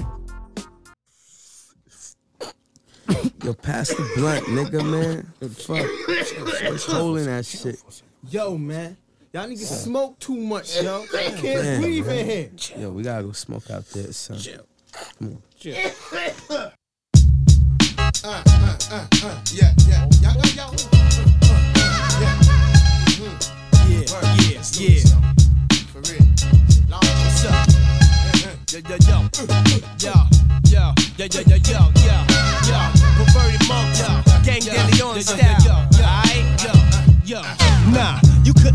Speaker 14: Yo, pass the blunt, nigga, man. What the fuck? What's holding that shit?
Speaker 4: Yo, man. Y'all niggas smoke too much, yo. I can't
Speaker 14: Damn,
Speaker 4: breathe
Speaker 14: man.
Speaker 4: in here.
Speaker 14: Yo, we gotta go smoke out there, son.
Speaker 4: Chill.
Speaker 14: Come on.
Speaker 4: Chill.
Speaker 13: Uh, uh, uh, uh, yeah, yeah, y'all got y'all. Uh, yeah. Mm-hmm. Yeah, yeah, yeah. For real. Long what's up? Yo, yo, yo, yo, yo, yo, yo, yo, yo, yo, yo. Perverted monk, yo. Gang Leon style. Aight, yo, yo. Nah, you couldn't flow a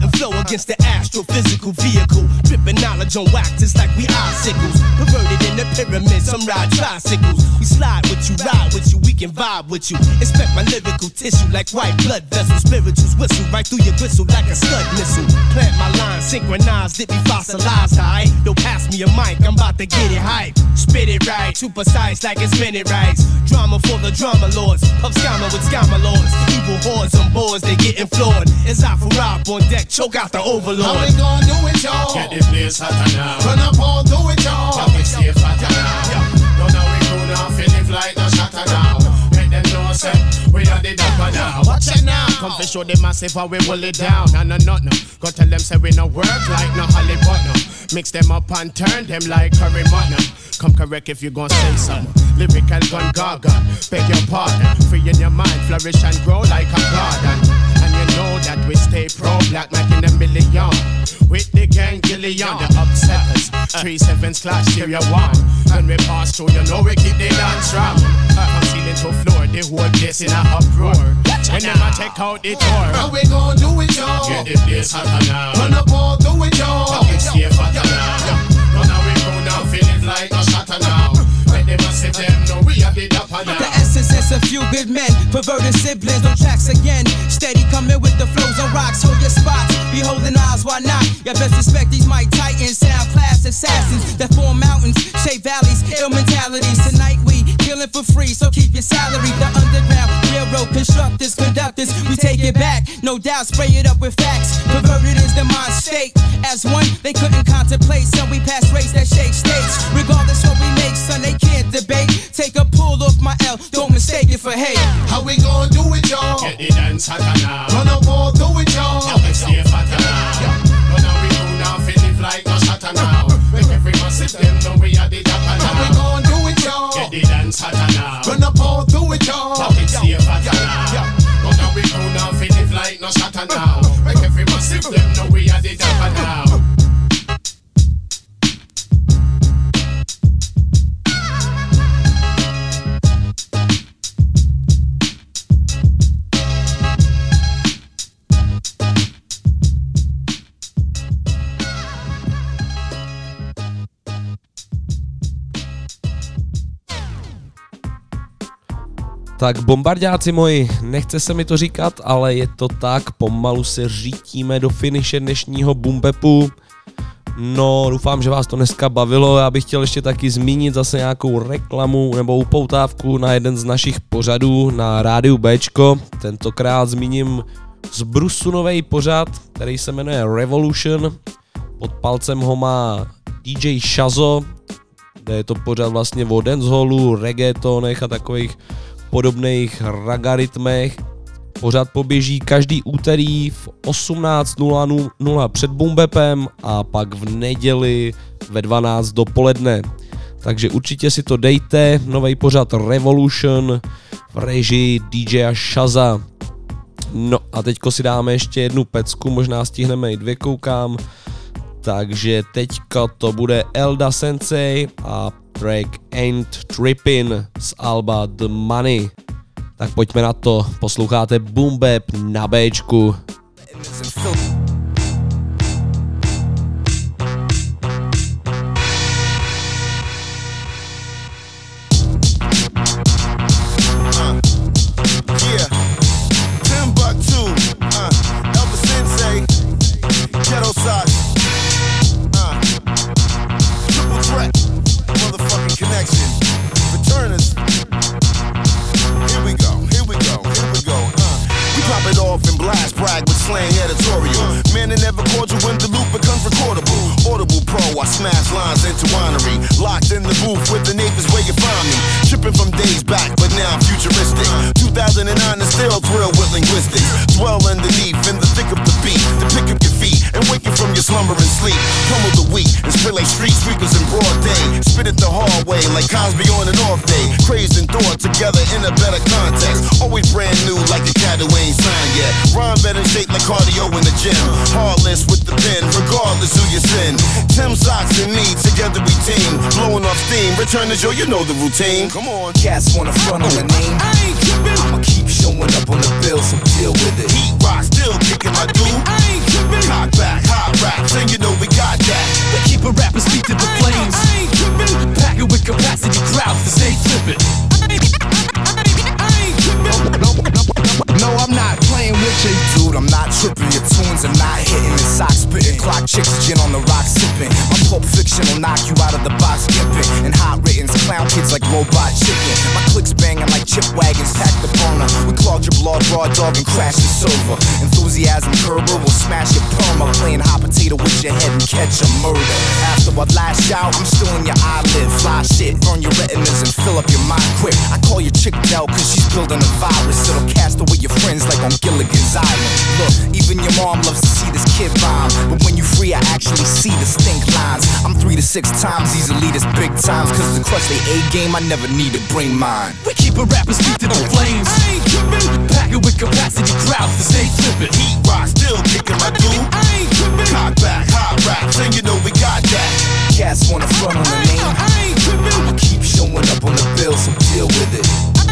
Speaker 19: against the astrophysical vehicle. Dripping knowledge on wax, it's like we icicles. Perverted in the pyramid, some ride tricycles. We slide with you, ride with you, we can vibe with you. Inspect my lyrical tissue like white blood vessels. Spirituals whistle right through your gristle like a scud missile. Plant my line, synchronized, it be fossilized, alright? Don't pass me a mic, I'm about to get it hype. Spit it right, too precise like it's minute rights. Drama for the drama lords, puff scammer with scammer lords. Evil hordes on boards, they getting floored. It's out for rob on deck, choke out the overlord.
Speaker 13: How we gon' do it, y'all? Get the place hotter now. Run up all, do it, y'all. How we stay fatter now. Don't know we cool now, feel it like no shatter now. Make them know, say, we are the dapper now. Watch it now. Come for show the massive how we pull it down. No, no, no, no. Go tell them, say we no work like no Hollywood, no. Mix them up and turn them like curry mutton. Come correct if you gon' say something. Lyrical gun gaga, beg your pardon. Free in your mind, flourish and grow like a garden. And you know that we stay pro-black, making a million. With the gang Gillian, the upsetters. Three sevens clash, stereo one. When we pass through, you know we keep the dance strong. From ceiling to floor, the whole place in a uproar. And then I take out the tour. How we gon' do it, y'all? Get the place hotter now. Run up all, do it, y'all. How we stay fatter now. Run away from now, feel it like no shatter now. Let them massive them know we are the dapper now.
Speaker 12: The essence is a few good men, perverted siblings on tracks again. Steady coming with the flows on rocks, hold your spots. Be holding eyes, why not? You best respect these Mike Titans, sound class assassins that form mountains, shape valleys, ill mentalities. Tonight we killing for free, so keep your salary. The underground railroad constructors, conductors, we take it back, no doubt. Spray it up with facts. Perverted is the mind state. As one, they couldn't contemplate. Son, we pass race that shake states. Regardless what we make, son, they can't debate. Take a pull off my L, don't mistake it for hate.
Speaker 13: How we gon' do it, y'all? Get the dance hotter now. Run up all, do it, y'all. How we stay fatter now. Run now we cool now, feel it like no shatter now. Make every massive them know we are the dapper now. How we gon' do it, y'all? Get the dance hotter now. Run up all, do it, y'all. How we stay fatter now. Run now we cool now, feel it like no shatter now. Make every massive them know we are the dapper now.
Speaker 3: Tak bombardáci moji, nechce se mi to říkat, ale je to tak, pomalu se řítíme do finiše dnešního Boombepu. No, doufám, že vás to dneska bavilo, já bych chtěl ještě taky zmínit zase nějakou reklamu nebo upoutávku na jeden z našich pořadů na rádiu Bčko. Tentokrát zmíním z Brusu novej pořad, který se jmenuje Revolution. Pod palcem ho má D J Shazo, kde je to pořad vlastně o dancehallu, reggaetonech a takových podobných ragaritmech. Pořád poběží každý úterý v osmnáct nula nula před Boombepem a pak v neděli ve dvanáct dopoledne. Takže určitě si to dejte, nový pořad Revolution v režii D J Shaza. No a teďko si dáme ještě jednu pecku, možná stihneme i dvě, koukám. Takže teďka to bude Elda Sensei a track Ain't Trippin' z alba The Money. Tak pojďme na to, posloucháte Boombap na Bčku.
Speaker 20: Slang editorial. Man, they never cordial when the loop becomes recordable. Audible Pro, I smash lines into winery. Locked in the booth with the neighbors where you find me. Tripping from days back, but now I'm futuristic. two thousand nine is still thrilled with linguistics. Dwell underneath in the thick of the beat. To pick up your feet and wake you from your slumber and sleep. Pummel the wheat and spit like street sweepers in broad day. Spit it the hard way like Cosby on an off day. Crazed and thought together in a better context. Always brand new like a cat who ain't signed yet. Rhyme better shaped like cardio in the gym. Heartless with the pen, regardless who you sin. Tim Socks and me, together we team. Blowing off steam, return to Joe, you know the routine. Come on.
Speaker 1: Cats wanna front on the name. I ain't trippin'. I'ma keep showing up on the bill, so deal with it.
Speaker 20: Heat rock, still kicking my dude.
Speaker 1: I ain't trippin'.
Speaker 20: Cock back,
Speaker 21: hitting and sock spitting. Clock chicks, gin on the rock sipping. My Pulp Fiction will knock you out of the box skipping. And hot writtens, clown kids like robot chicken. My clicks banging like chip wagons, pack the boner. We clogged your blood, raw dog, and crash the silver. Enthusiasm curber will smash your perma. Playing hot potato with your head and catch a murder. After I lash out, I'm still in your eyelid. Fly shit, burn your retinas and fill up your mind quick. I call your chick Dell cause she's building a virus. It'll cast away your friends like on Gilligan's Island. Look, even your mom loves to see this kid rhyme. But when you free, I actually see the stink lines. I'm three to six times these elitists big times. Cause to crush they A game, I never need to bring mine.
Speaker 22: We keep a rapper's feet to the flames. I ain't trippin'. Packing with capacity crowds to stay flippin'.
Speaker 20: Heat rock, still kicking my dude.
Speaker 22: I ain't trippin'.
Speaker 20: Cock back, hot raps, and you know we got that.
Speaker 21: Cats wanna front on the name.
Speaker 22: I ain't trippin'.
Speaker 21: I'ma keep showing up on the bill, so deal with it.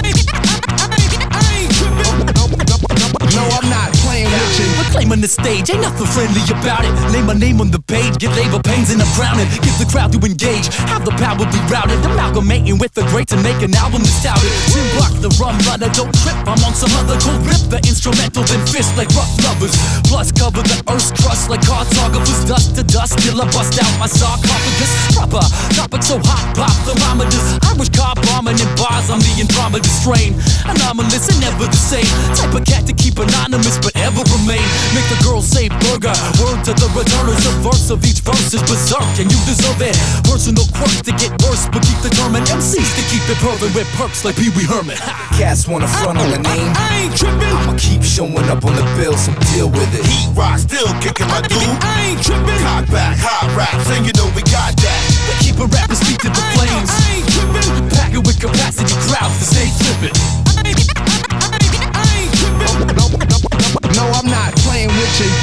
Speaker 22: No, I'm not playing with you. We're claiming the stage, ain't nothing friendly about it. Lay my name on the page, get labor pains and I'm crowning. Give the crowd to engage, have the power be routed. Amalgamating with the greats and make an album that's touted. Tim Block, the rum runner, don't trip. I'm on some other cold rip, the instrumental then fist like rough lovers. Plus cover the earth's crust like cartographers. Dust to dust till I bust out my sarcophagus. Proper topic so hot, pop thermometers. Irish car bombing in bars, I'm the Andromeda strain. Anomalous and never the same. Type of cat to keep anonymous but ever remain. Make the girl say burger. Word to the returners, the verse of each verse is berserk and you deserve it. Personal quirks to get worse but keep determined. M Cs to keep it perfect with perks like Pee Wee Herman.
Speaker 21: Cats wanna front on the name.
Speaker 22: I ain't trippin'.
Speaker 21: I'ma keep showing up on the bill, so deal with it.
Speaker 20: Heat rock, still kicking my dude.
Speaker 22: I ain't trippin'.
Speaker 20: Cock back, hot raps, and you know we got that.
Speaker 22: We keep a rapper's feet to the flames. I ain't trippin'. Packing with capacity crowds to stay flippin'.
Speaker 14: No, I'm not playing with you.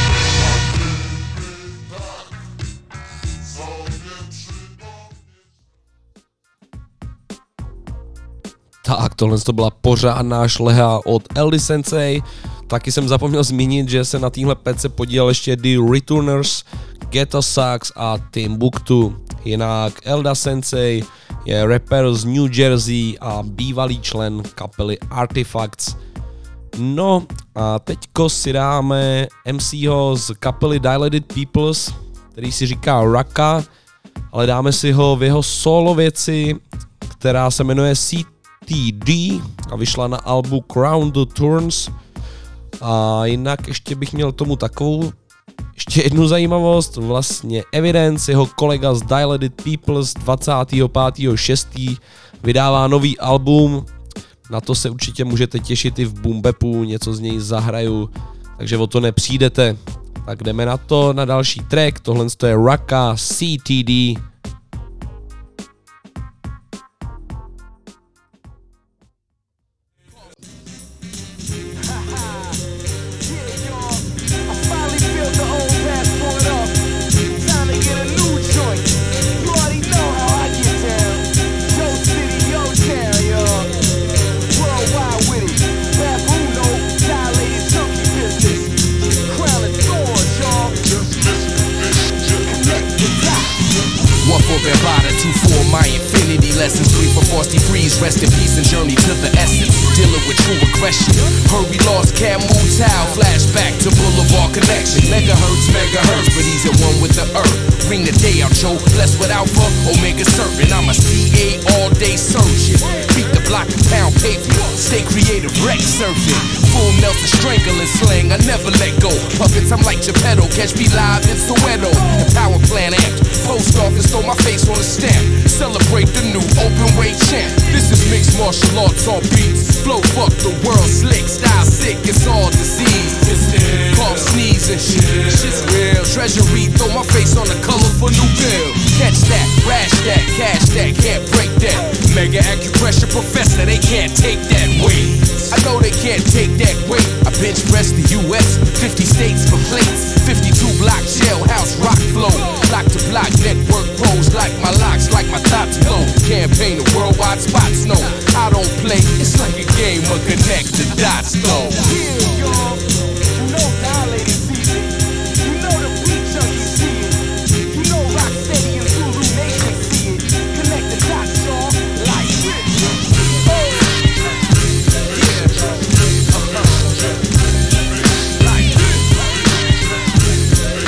Speaker 3: Tak, tohle to byla pořádná šleha od L D Sensei. Taky jsem zapomněl zmínit, že se na téhle pece podílel ještě The Returners, Ghetto Sucks a Timbuktu. Jinak Elda Sensei je rapper z New Jersey a bývalý člen kapely Artifacts. No a teďko si dáme M C ho z kapely Dilated Peoples, který si říká Raka, ale dáme si ho v jeho solo věci, která se jmenuje C T D a vyšla na albu Crown the Thorns. A jinak ještě bych měl tomu takovou ještě jednu zajímavost, vlastně Evidence, jeho kolega z Dilated Peoples dvacátého pátého šestého vydává nový album. Na to se určitě můžete těšit i v Boom Bapu, něco z něj zahraju, takže o to nepřijdete. Tak jdeme na to, na další track, tohle je Raka C T D.
Speaker 1: Two for my infinity lessons, three for Frosty Freeze, rest in peace and journey to the essence, dealing with true aggression. Hurry lost Camu Tao, flashback to Boulevard Connection. Megahertz, megahertz, but he's at one with the earth. Ring the day out, Joe, blessed with Alpha, Omega Serpent. I'm a C A all day surgeon. Beat the block and pound pavement, stay creative, wreck surfing. Full Nelson strangling slang, I never let go. Puppets, I'm like Geppetto, catch me live in Soweto. The power plant act, post office, throw my face on a stamp. Celebrate the new open weight champ. This is mixed martial arts on beats. Flow fuck the world slick, style sick, it's all disease. Cough, sneeze and shit, shit's real. Treasury, throw my face on a colorful new bill. Catch that, rash that, cash that, can't break that. Mega acupressure professor, they can't take that weight. I know they can't take that weight. I bench press the U S, fifty states for plates. fifty-two block jailhouse rock flow. Block to block network pros like my locks, like my tops glow. Campaign the worldwide spots, no, I don't play. It's like a game of connect the dots though. Yeah, y'all, you know Dilated season. You know the beat junkie see it. You know Rocksteady and Zulu Nation see it. Connect the dots, y'all, like it. Oh, yeah.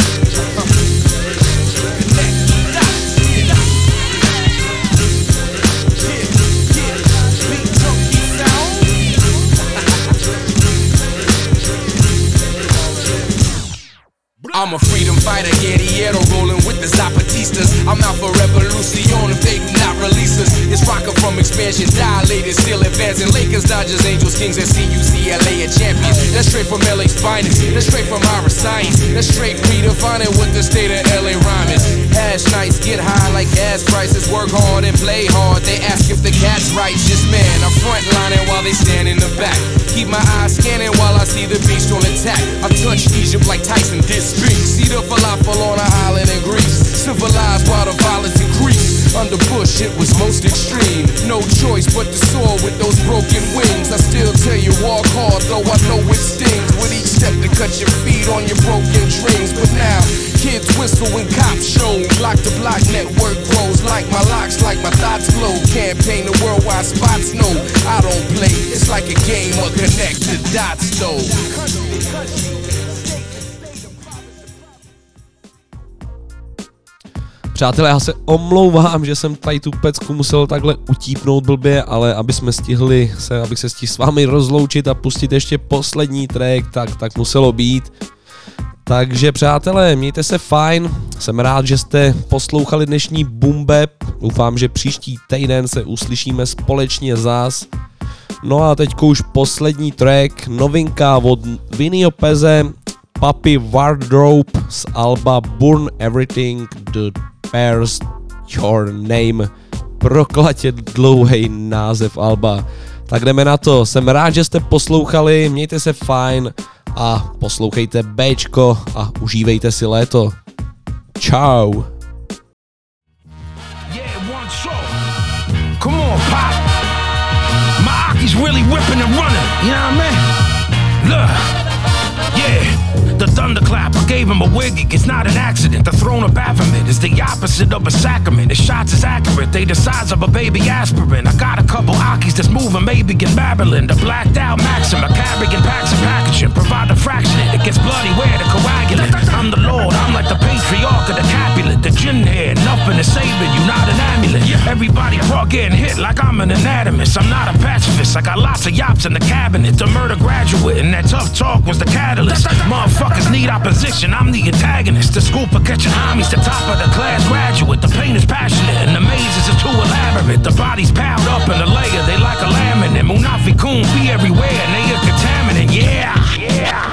Speaker 1: freedom fighter, guerrillero, rolling with the Zapatistas. I'm out for revolution if they do not release us. It's rockin' from expansion, dilated, still advancing. Lakers, Dodgers, Angels, Kings, and C U C L A are champions. That's straight from L A's finest. That's straight from our science. That's straight redefining what the state of L A rhyme is. Ash nights get high like gas prices. Work hard and play hard. They ask if the cat's righteous. Man, I'm frontlining while they stand in the back. Keep my eyes scanning while I see the beast on attack. I touch Egypt like Tyson did street. See the falafel on an island in Greece. Civilized while the violence increased. Under Bush it was most extreme. No choice but to soar with those broken wings. I still tell you walk hard though I know it stings. With each step to cut your feet on your broken dreams. But now kids whistle when cops show. Block to block network grows. Like my locks, like my thoughts flow. Campaign the worldwide spots, no I don't play. It's like a game of connect the dots though.
Speaker 3: Přátelé, já se omlouvám, že jsem tady tu pecku musel takhle utípnout blbě, ale aby jsme stihli se, abych se stihl s vámi rozloučit a pustit ještě poslední track, tak, tak muselo být. Takže přátelé, mějte se fajn, jsem rád, že jste poslouchali dnešní Boom Bap, doufám, že příští týden se uslyšíme společně zás. No a teďko už poslední track, novinka od Vinnyho Peze, Papi Wardrobe z alba Burn Everything That Bears Your Name. Proklatě dlouhý název alba. Tak jdeme na to, jsem rád, že jste poslouchali, mějte se fajn a poslouchejte Bčko a užívejte si léto. Čau.
Speaker 2: Come on, Pop. My Aki's really whipping and running, you know what I mean? Look, yeah. The thunderclap, I gave him a wig, it's not an accident. The throne of Baphomet is the opposite of a sacrament. His shots is accurate, they the size of a baby aspirin. I got a couple Akis that's moving, maybe in Babylon. The blacked out Maxim, a carrying packs and packaging. Provide a fraction, it gets bloody where the coagulant. I'm the Lord, I'm like the patriarch of the Capulet. The gin head, nothing is saving you, not an amulet. Everybody brought getting hit like I'm an anatomist. I'm not a pacifist, I got lots of yops in the cabinet. The murder graduate, and that tough talk was the catalyst. Motherfuckers need opposition, I'm the antagonist. The school for catching homies, the top of the class graduate. The pain is passionate and the mazes are too elaborate. The body's piled up in a layer, they like a laminate. Munafi Kun be everywhere and they a contaminant, yeah, yeah.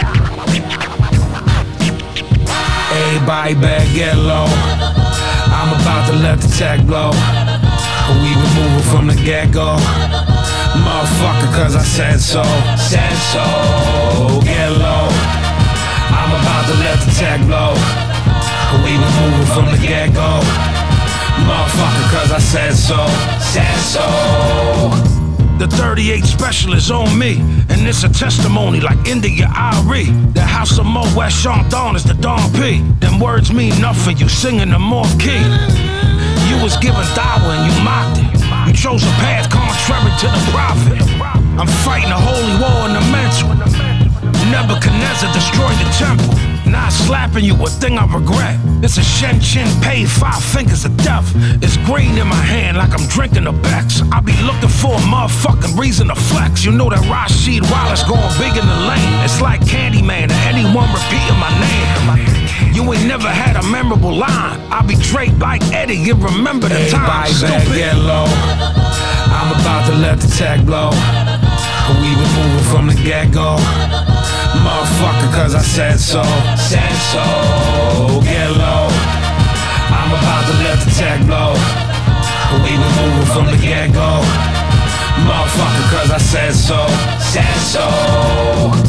Speaker 2: Everybody better get low. I'm about to let the tech blow. We were moving from the get-go. Motherfucker, cause I said so. Said so. Get low. I'm about to let the tech blow. We were moving from the get-go. Motherfucker, cause I said so. Said so. The thirty-eight special is on me, and it's a testimony like India Ari. The house of Mo West Sean Dawn is the Don P. Them words mean nothing, you singing them off key. You was given dawah and you mocked it. You chose a path contrary to the prophet. I'm fighting a holy war in the mental. Nebuchadnezzar destroyed the temple. Not slapping you, a thing I regret. It's a Shen Chin Pei, five fingers of death. It's green in my hand like I'm drinking a Bex. I be looking for a motherfucking reason to flex. You know that Rashid Wallace going big in the lane. It's like Candyman or anyone repeating my name. You ain't never had a memorable line. I be draped like Eddie, you remember the time. Everybody better get low. I'm about to let the tech blow. We were moving from the get-go. Motherfucker, cause I said so. Said so. Get low. I'm about to let the tech blow. We were moving from the get-go. Motherfucker, cause I said so. Said so.